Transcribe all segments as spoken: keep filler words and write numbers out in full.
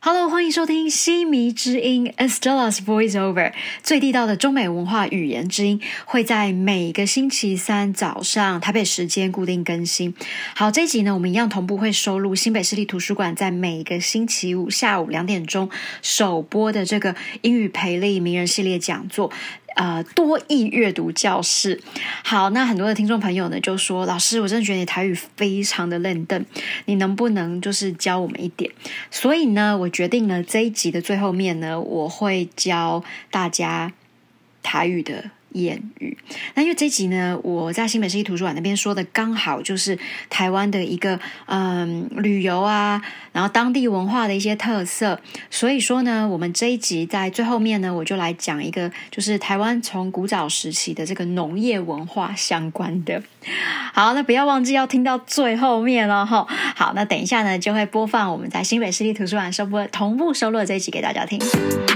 Hello， 欢迎收听西迷之音 Estella's Voiceover， 最地道的中美文化语言之音，会在每个星期三早上台北时间固定更新。好，这一集呢，我们一样同步会收录新北市立图书馆在每个星期五下午两点钟首播的这个英语培力名人系列讲座。呃，多益阅读教室。好，那很多的听众朋友呢就说，老师，我真的觉得你台语非常的嫩邓，你能不能就是教我们一点？所以呢，我决定呢这一集的最后面呢，我会教大家台语的谚语。那因为这一集呢，我在新北市立图书馆那边说的刚好就是台湾的一个嗯旅游啊，然后当地文化的一些特色，所以说呢，我们这一集在最后面呢，我就来讲一个就是台湾从古早时期的这个农业文化相关的。好，那不要忘记要听到最后面哦齁。好，那等一下呢就会播放我们在新北市立图书馆收播同步收录的这一集给大家听。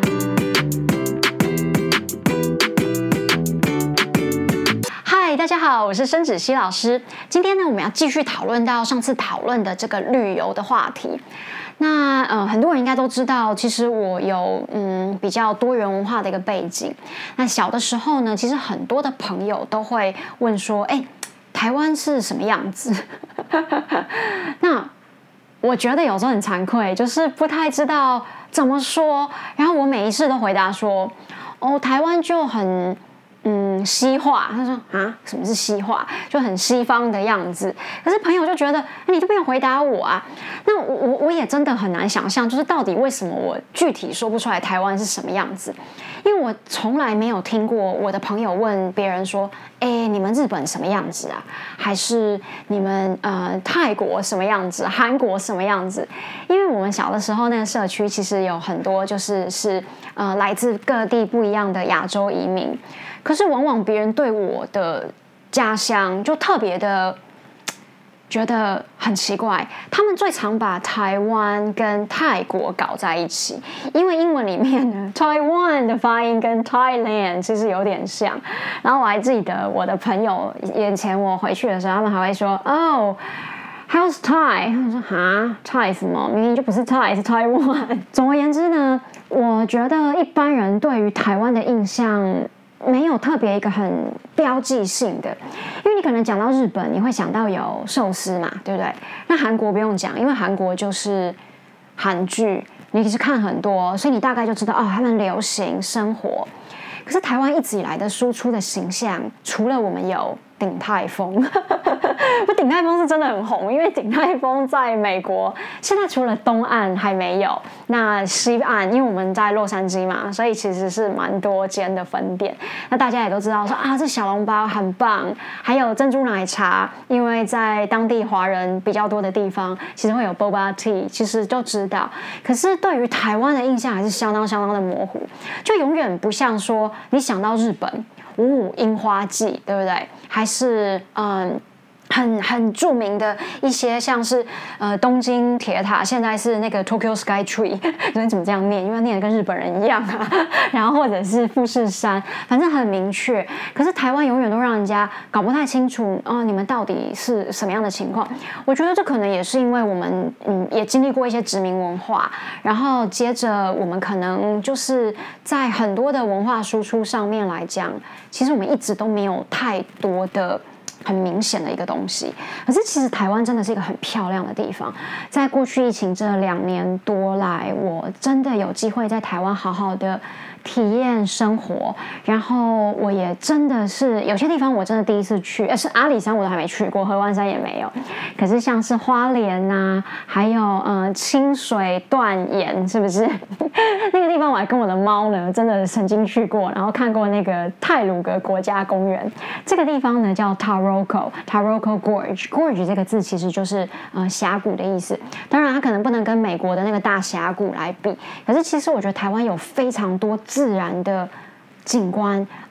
嗨，大家好，我是申芷溪老师。今天呢，我们要继续讨论到上次讨论的这个旅游的话题。那呃，很多人应该都知道，其实我有嗯比较多元文化的一个背景。那小的时候呢，其实很多的朋友都会问说，哎，台湾是什么样子？那我觉得有时候很惭愧，就是不太知道怎么说。然后我每一次都回答说，哦，台湾就很。嗯，西化，他说啊，什么是西化？就很西方的样子。可是朋友就觉得，你都不用回答我啊。那我我我也真的很难想象，就是到底为什么我具体说不出来台湾是什么样子？因为我从来没有听过我的朋友问别人说，哎，你们日本什么样子啊？还是你们呃泰国什么样子？韩国什么样子？因为我们小的时候那个社区其实有很多就是是呃来自各地不一样的亚洲移民。可是往往别人对我的家乡就特别的觉得很奇怪，他们最常把台湾跟泰国搞在一起，因为英文里面呢 Taiwan 的发音跟 Thailand 其实有点像。然后我还记得我的朋友以前我回去的时候，他们还会说哦How's Thai？ 他们说哈 Thai 什么？明明就不是 Thai， 是 Taiwan。总而言之呢，我觉得一般人对于台湾的印象没有特别一个很标记性的，因为你可能讲到日本，你会想到有寿司嘛，对不对？那韩国不用讲，因为韩国就是韩剧，你是看很多，所以你大概就知道哦，他们流行生活。可是台湾一直以来的输出的形象，除了我们有鼎泰丰，不，鼎泰丰是真的很红，因为鼎泰丰在美国现在除了东岸还没有，那西岸因为我们在洛杉矶嘛，所以其实是蛮多间的分店。那大家也都知道说啊，这小笼包很棒，还有珍珠奶茶，因为在当地华人比较多的地方，其实会有 boba tea， 其实就知道。可是对于台湾的印象还是相当相当的模糊，就永远不像说你想到日本。五五樱花季，对不对？还是嗯，很很著名的一些，像是呃东京铁塔，现在是那个 Tokyo Sky Tree， 你怎么这样念？因为念的跟日本人一样啊。然后或者是富士山，反正很明确。可是台湾永远都让人家搞不太清楚哦，你们到底是什么样的情况？我觉得这可能也是因为我们嗯也经历过一些殖民文化，然后接着我们可能就是在很多的文化输出上面来讲，其实我们一直都没有太多的很明显的一个东西。可是其实台湾真的是一个很漂亮的地方，在过去疫情这两年多来，我真的有机会在台湾好好的体验生活，然后我也真的是有些地方我真的第一次去，呃，是阿里山我都还没去过，合欢山也没有。可是像是花莲啊，还有呃清水断岩，是不是那个地方我还跟我的猫呢真的曾经去过，然后看过那个太鲁阁国家公园。这个地方呢叫 Taroko Taroko Gorge Gorge 这个字其实就是呃峡谷的意思。当然它可能不能跟美国的那个大峡谷来比，可是其实我觉得台湾有非常多自然的景观，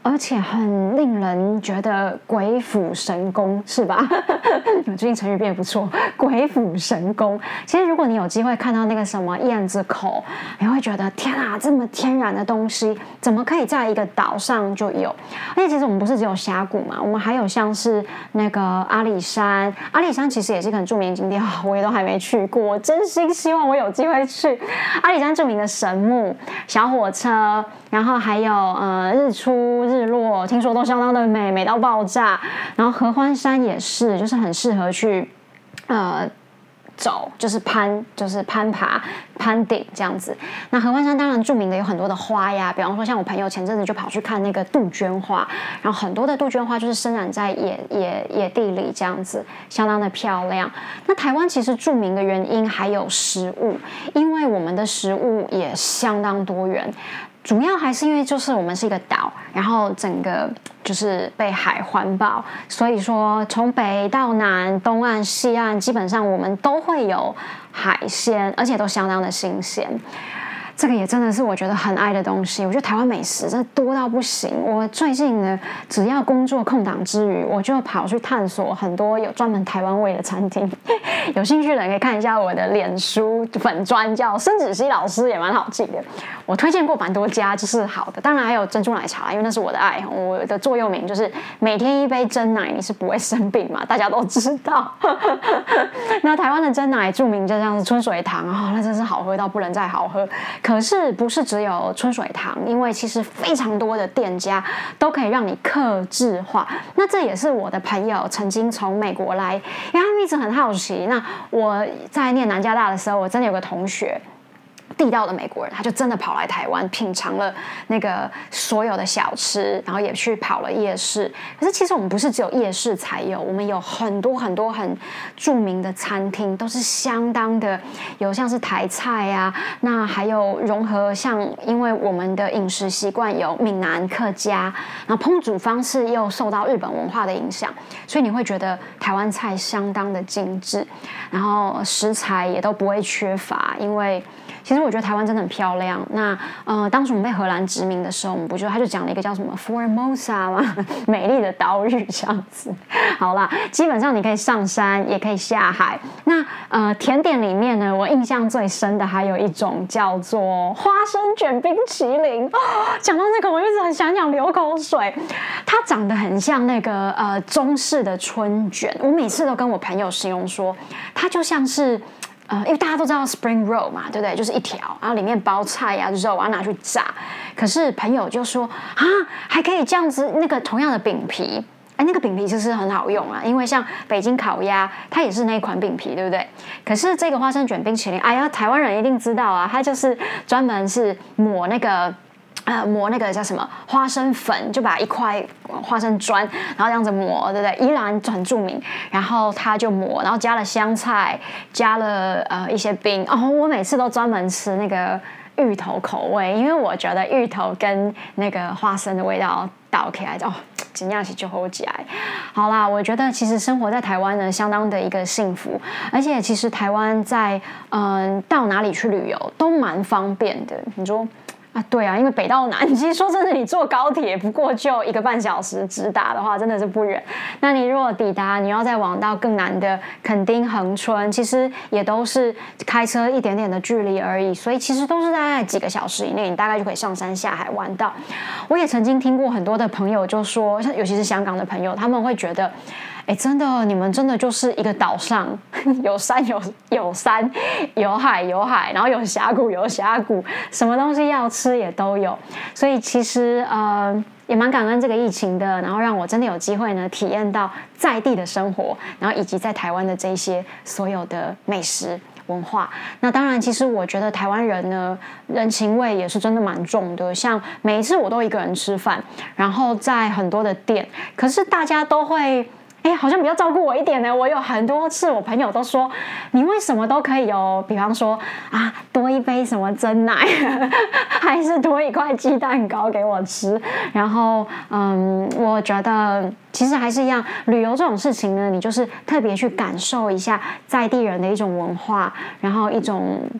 而且很令人觉得鬼斧神工，是吧？最近成语变得不错，鬼斧神工。其实如果你有机会看到那个什么燕子口，你会觉得天啊，这么天然的东西怎么可以在一个岛上就有？而且其实我们不是只有峡谷嘛，我们还有像是那个阿里山，阿里山其实也是一个很著名的景点，我也都还没去过，我真心希望我有机会去。阿里山著名的神木、小火车，然后还有呃日出日落，听说都相当的美，美到爆炸。然后合欢山也是，就是很适合去呃走，就是攀，就是攀爬、攀顶这样子。那合欢山当然著名的有很多的花呀，比方说像我朋友前阵子就跑去看那个杜鹃花，然后很多的杜鹃花就是生长在野野野地里这样子，相当的漂亮。那台湾其实著名的原因还有食物，因为我们的食物也相当多元。主要还是因为就是我们是一个岛，然后整个就是被海环抱，所以说从北到南、东岸、西岸，基本上我们都会有海鲜，而且都相当的新鲜。这个也真的是我觉得很爱的东西。我觉得台湾美食真的多到不行。我最近呢，只要工作空档之余，我就跑去探索很多有专门台湾味的餐厅。有兴趣的人可以看一下我的脸书粉专，叫申芷溪老师，也蛮好记的。我推荐过蛮多家，就是好的。当然还有珍珠奶茶，因为那是我的爱。我的座右铭就是每天一杯珍奶，你是不会生病嘛，大家都知道。那台湾的珍奶著名就像是春水堂啊、哦，那真是好喝到不能再好喝。可是不是只有春水堂，因为其实非常多的店家都可以让你客制化。那这也是我的朋友曾经从美国来，因为他们一直很好奇。那我在念南加大的时候，我真的有个同学。地道的美国人，他就真的跑来台湾品尝了那个所有的小吃，然后也去跑了夜市。可是其实我们不是只有夜市才有，我们有很多很多很著名的餐厅，都是相当的有像是台菜啊，那还有融合像因为我们的饮食习惯有闽南客家，然后烹煮方式又受到日本文化的影响，所以你会觉得台湾菜相当的精致，然后食材也都不会缺乏，因为。其实我觉得台湾真的很漂亮。那呃，当时我们被荷兰殖民的时候，我们不就他就讲了一个叫什么 Formosa 吗？美丽的岛屿这样子。好啦，基本上你可以上山，也可以下海。那呃，甜点里面呢，我印象最深的还有一种叫做花生卷冰淇淋。哦，讲到那个，我一直很想想流口水。它长得很像那个呃中式的春卷，我每次都跟我朋友形容说，它就像是。呃，因为大家都知道 spring roll 嘛，对不对？就是一条，然后里面包菜啊、肉啊，拿去炸。可是朋友就说啊，还可以这样子，那个同样的饼皮，哎，那个饼皮其实很好用啊，因为像北京烤鸭，它也是那一款饼皮，对不对？可是这个花生卷冰淇淋，哎呀，台湾人一定知道啊，它就是专门是抹那个。呃，磨那个叫什么花生粉，就把一块花生砖，然后这样子磨，对不对？宜兰很著名，然后他就磨，然后加了香菜，加了呃一些冰。哦，我每次都专门吃那个芋头口味，因为我觉得芋头跟那个花生的味道倒起来，哦，真的是就好起来。好啦，我觉得其实生活在台湾呢，相当的一个幸福，而且其实台湾在嗯、呃、到哪里去旅游都蛮方便的。你说？啊，对啊，因为北到南，其实说真的，你坐高铁不过就一个半小时直达的话，真的是不远。那你如果抵达，你要再往到更南的垦丁、恒春，其实也都是开车一点点的距离而已，所以其实都是在几个小时以内，你大概就可以上山下海玩到。我也曾经听过很多的朋友就说，尤其是香港的朋友，他们会觉得。哎，真的，你们真的就是一个岛上，有山有有山，有海有海，然后有峡谷有峡谷，什么东西要吃也都有。所以其实呃也蛮感恩这个疫情的，然后让我真的有机会呢体验到在地的生活，然后以及在台湾的这些所有的美食。文化，那当然，其实我觉得台湾人呢，人情味也是真的蛮重的。像每一次我都一个人吃饭，然后在很多的店，可是大家都会。哎，好像比较照顾我一点呢。我有很多次，我朋友都说，你为什么都可以有，比方说啊，多一杯什么珍奶，还是多一块鸡蛋糕给我吃。然后，嗯，我觉得其实还是一样，旅游这种事情呢，你就是特别去感受一下在地人的一种文化，然后一种。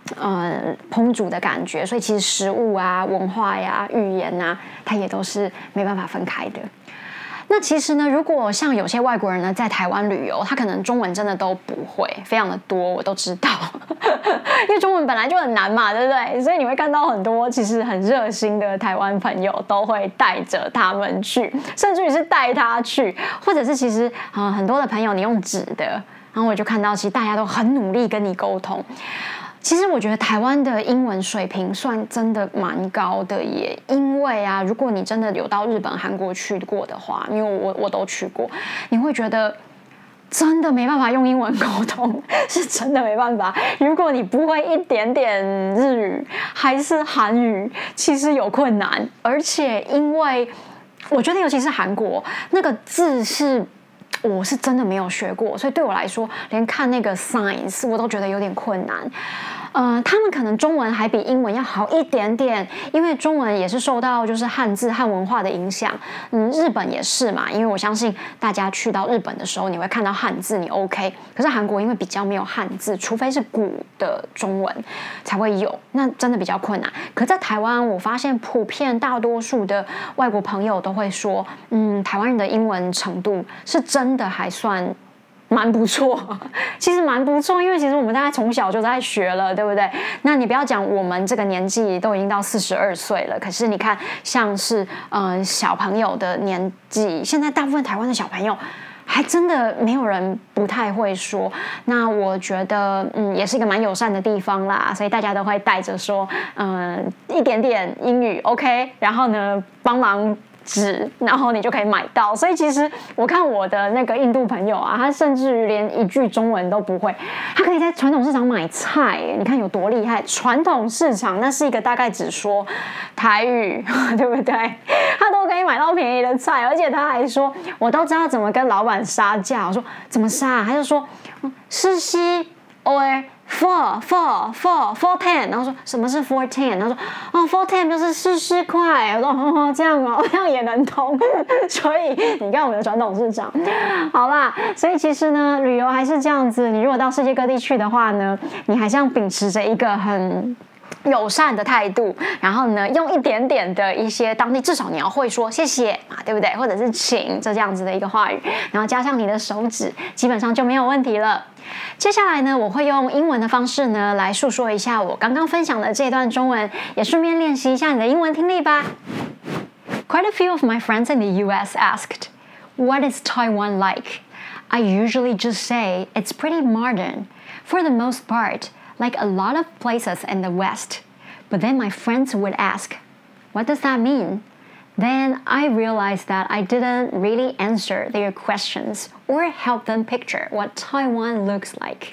呃烹煮的感觉，所以其实食物啊、文化呀、语言啊，它也都是没办法分开的。那其实呢，如果像有些外国人呢在台湾旅游，他可能中文真的都不会，非常的多，我都知道，因为中文本来就很难嘛，对不对？所以你会看到很多其实很热心的台湾朋友都会带着他们去，甚至于是带他去，或者是其实啊、呃、很多的朋友你用纸的，然后我就看到其实大家都很努力跟你沟通。其实我觉得台湾的英文水平算真的蛮高的耶，因为啊，如果你真的有到日本、韩国去过的话，因为我我都去过，你会觉得真的没办法用英文沟通，是真的没办法。如果你不会一点点日语还是韩语，其实有困难，而且因为我觉得尤其是韩国那个字是。我是真的没有学过，所以对我来说，连看那个 signs 我都觉得有点困难。呃，他们可能中文还比英文要好一点点，因为中文也是受到就是汉字汉文化的影响。嗯，日本也是嘛，因为我相信大家去到日本的时候，你会看到汉字，你 OK。可是韩国因为比较没有汉字，除非是古的中文才会有，那真的比较困难。可在台湾，我发现普遍大多数的外国朋友都会说，嗯，台湾人的英文程度是真的还算。蛮不错，其实蛮不错，因为其实我们大概从小就在学了，对不对？那你不要讲我们这个年纪都已经到四十二岁了，可是你看，像是呃小朋友的年纪，现在大部分台湾的小朋友还真的没有人不太会说。那我觉得嗯也是一个蛮友善的地方啦，所以大家都会带着说嗯、呃、一点点英语 OK， 然后呢帮忙。纸，然后你就可以买到。所以其实我看我的那个印度朋友啊，他甚至于连一句中文都不会，他可以在传统市场买菜，你看有多厉害！传统市场那是一个大概只说台语，对不对？他都可以买到便宜的菜，而且他还说，我都知道怎么跟老板杀价。我说怎么杀？他就说是西 or four four four four ten， 然后说什么是 four ten， 然后说哦 four ten 就是四十块，我说哦这样哦，这样也能通，所以你看我们的传统市场，好啦，所以其实呢，旅游还是这样子，你如果到世界各地去的话呢，你还是要秉持着一个很。友善的态度，然后呢，用一点点的一些当地，至少你要会说谢谢嘛，对不对？或者是请这样子的一个话语，然后加上你的手指，基本上就没有问题了。接下来呢，我会用英文的方式呢来述说一下我刚刚分享的这段中文，也顺便练习一下你的英文听力吧。Quite a few of my friends in the U S asked, "What is Taiwan like?" I usually just say it's pretty modern, for the most part.Like a lot of places in the West. But then my friends would ask, what does that mean? Then I realized that I didn't really answer their questions or help them picture what Taiwan looks like.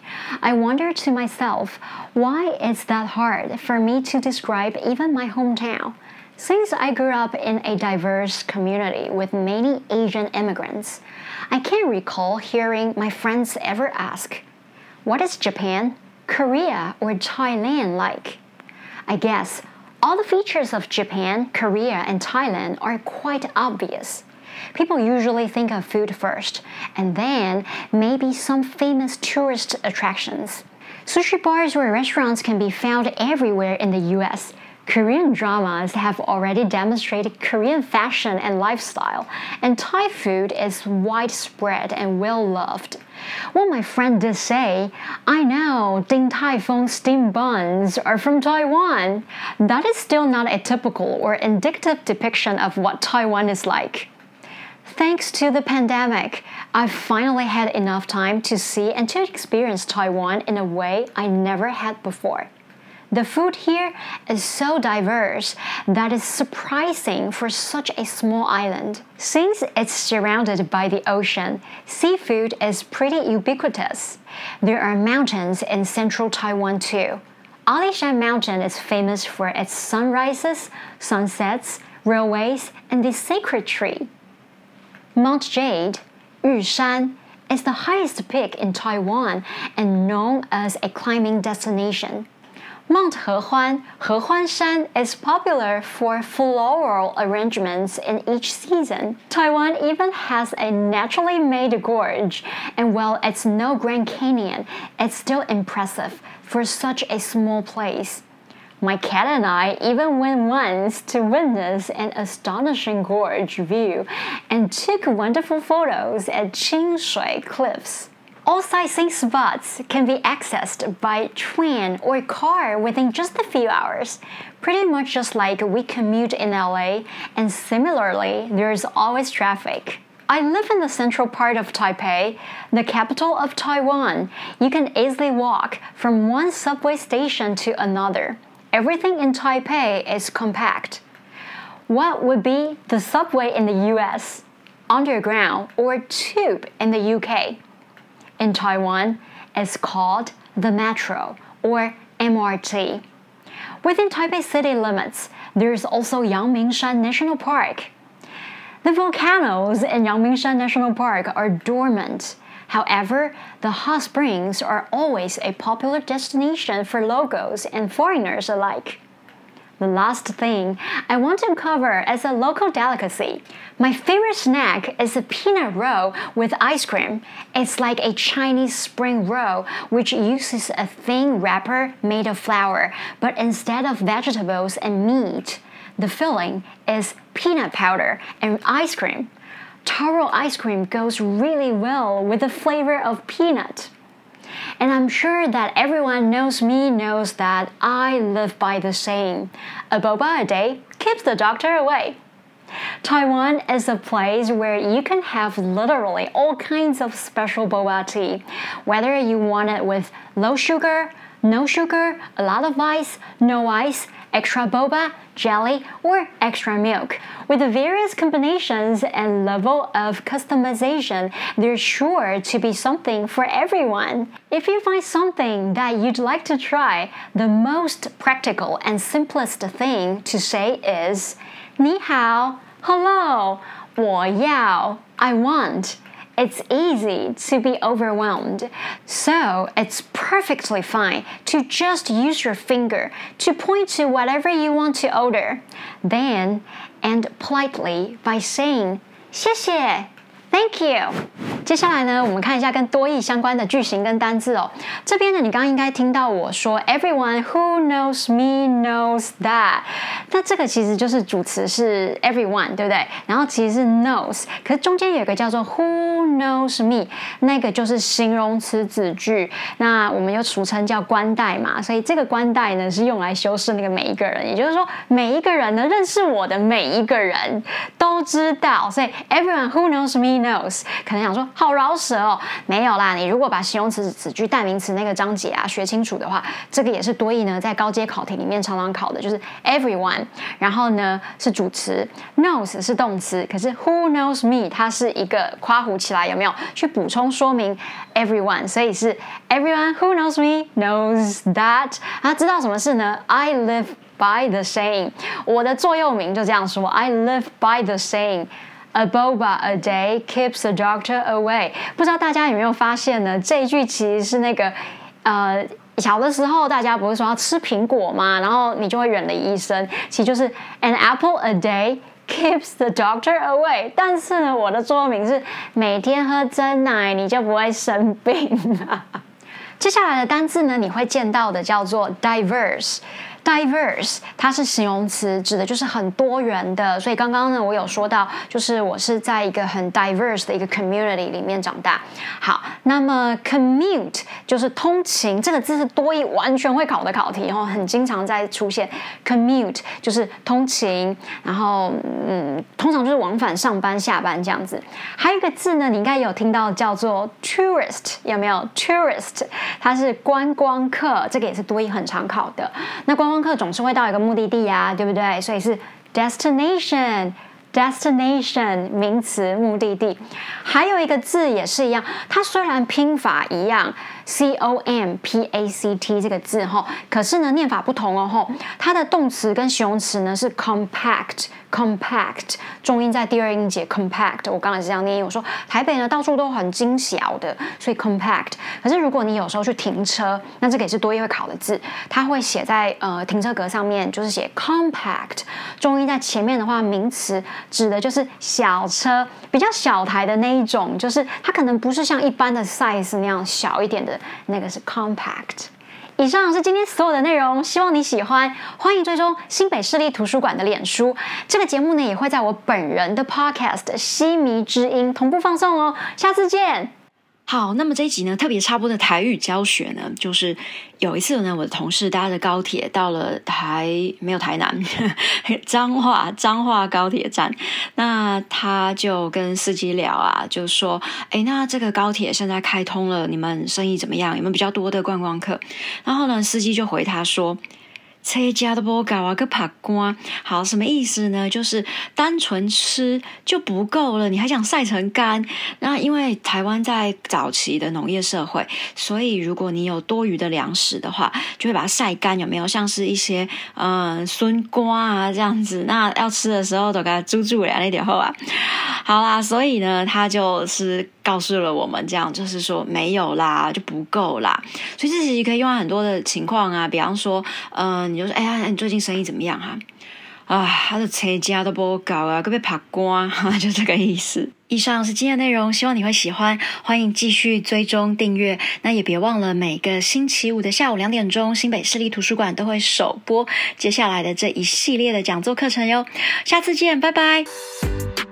I wondered to myself, why is that hard for me to describe even my hometown? Since I grew up in a diverse community with many Asian immigrants, I can't recall hearing my friends ever ask, what is Japan?Korea or Thailand like? I guess all the features of Japan, Korea, and Thailand are quite obvious. People usually think of food first, and then maybe some famous tourist attractions. Sushi bars or restaurants can be found everywhere in the U S. Korean dramas have already demonstrated Korean fashion and lifestyle, and Thai food is widespread and well-loved.What my friend did say, I know Din Tai Fung steamed buns are from Taiwan. That is still not a typical or indicative depiction of what Taiwan is like. Thanks to the pandemic, I've finally had enough time to see and to experience Taiwan in a way I never had before.The food here is so diverse that is surprising for such a small island. Since it's surrounded by the ocean, seafood is pretty ubiquitous. There are mountains in central Taiwan too. Alishan Mountain is famous for its sunrises, sunsets, railways, and the sacred tree. Mount Jade, Yushan, is the highest peak in Taiwan and known as a climbing destination. Mount Hehuan, Hehuan Shan is popular for floral arrangements in each season. Taiwan even has a naturally made gorge, and while it's no Grand Canyon, it's still impressive for such a small place. My cat and I even went once to witness an astonishing gorge view and took wonderful photos at Qingshui Cliffs. All sightseeing spots can be accessed by train or car within just a few hours, pretty much just like we commute in L A, and similarly, there's always traffic. I live in the central part of Taipei, the capital of Taiwan. You can easily walk from one subway station to another. Everything in Taipei is compact. What would be the subway in the U S, underground, or tube in the U K? In Taiwan, it's called the metro or M R T. Within Taipei city limits, there's also Yangmingshan National Park. The volcanoes in Yangmingshan National Park are dormant. However, the hot springs are always a popular destination for locals and foreigners alike. The last thing I want to cover is a local delicacy. My favorite snack is a peanut roll with ice cream. It's like a Chinese spring roll, which uses a thin wrapper made of flour, but instead of vegetables and meat, the filling is peanut powder and ice cream. Taro ice cream goes really well with the flavor of peanut. And I'm sure that everyone knows me knows that I live by the saying, a boba a day keeps the doctor away. Taiwan is a place where you can have literally all kinds of special boba tea, whether you want it with low sugar, no sugar, a lot of ice, no ice, extra boba, jelly, or extra milk. With the various combinations and level of customization, there's sure to be something for everyone. If you find something that you'd like to try, the most practical and simplest thing to say is 你好, hello, 我要, I want. It's easy to be overwhelmed, so it's perfectly fine to just use your finger to point to whatever you want to order. Then, end politely by saying 谢谢 Thank you. 接下来呢，我们看一下跟多益相关的句型跟单字哦。这边呢，你刚刚应该听到我说 Everyone who knows me knows that。那这个其实就是主词是 everyone， 对不对？然后其实是 knows， 可是中间有一个叫做 who knows me， 那个就是形容词子句。那我们又俗称叫冠带嘛，所以这个冠带呢是用来修饰那个每一个人，也就是说每一个人呢认识我的每一个人都知道，所以 everyone who knows me knows， 可能想说好饶舌哦，没有啦。你如果把形容词、子句、代名词那个章节啊学清楚的话，这个也是多益呢在高阶考题里面常常考的，就是 everyone， 然后呢是主词 ，knows 是动词，可是 who knows me 它是一个括弧起来，有没有去补充说明 everyone， 所以是 everyone who knows me knows that。他知道什么事呢 ？I live by the saying， 我的座右铭就这样说 ，I live by the saying。A boba a day keeps the doctor away。不知道大家有没有发现呢？这一句其实是那个，呃，小的时候大家不是说要吃苹果吗？然后你就会远离医生，其实就是 an apple a day keeps the doctor away。但是呢，我的座右铭是每天喝真奶，你就不会生病了。接下来的单字呢，你会见到的叫做 diverse。diverse 它是形容词，指的就是很多元的。所以刚刚呢，我有说到，就是我是在一个很 diverse 的一个 community 里面长大。好，那么 commute 就是通勤，这个字是多益完全会考的考题，然后很经常在出现。commute 就是通勤，然后嗯，通常就是往返上班、下班这样子。还有一个字呢，你应该有听到叫做 tourist， 有没有 tourist？ 它是观光客，这个也是多益很常考的。那观光客总是会到一个目的地啊，对不对？所以是 destination。 destination 名词目的地。还有一个字也是一样，它虽然拼法一样 C O M P A C T 这个字齁，可是呢念法不同哦齁，它的动词跟形容词呢是 compact compact， 重音在第二音节 compact， 我刚才是这样念，我说台北呢到处都很精小的，所以 compact。可是如果你有时候去停车，那这个也是多益会考的字，它会写在呃停车格上面，就是写 compact， 重音在前面的话，名词指的就是小车，比较小台的那一种，就是它可能不是像一般的 size 那样小一点的，那个是 compact。以上是今天所有的内容，希望你喜欢。欢迎追踪新北市立图书馆的脸书，这个节目呢也会在我本人的 podcast《西迷之音》同步放送哦。下次见。 好，那么这一集呢，特别插播的台语教学呢，就是有一次呢，我的同事搭着高铁到了台没有台南彰化彰化高铁站，那他就跟司机聊啊，就说，哎，那这个高铁现在开通了，你们生意怎么样？有没有比较多的观光客？然后呢，司机就回他说，车家都不搞啊，个拍光。好，什么意思呢？就是单纯吃就不够了，你还想晒成干？那因为台湾在早期的农业社会，所以如果你有多余的粮食的话，就会把它晒干，有没有？像是一些嗯笋瓜啊这样子，那要吃的时候都给它煮煮了那点后啊。好啦，所以呢，他就是告诉了我们这样，就是说没有啦，就不够啦。所以这其实可以用在很多的情况啊，比方说，嗯、呃，你就说，哎呀，你最近生意怎么样哈、啊？啊，他的车价都不高啊，可被拍光，就这个意思。以上是今天的内容，希望你会喜欢，欢迎继续追踪订阅。那也别忘了每个星期五的下午两点钟，新北市立图书馆都会首播接下来的这一系列的讲座课程哟。下次见，拜拜。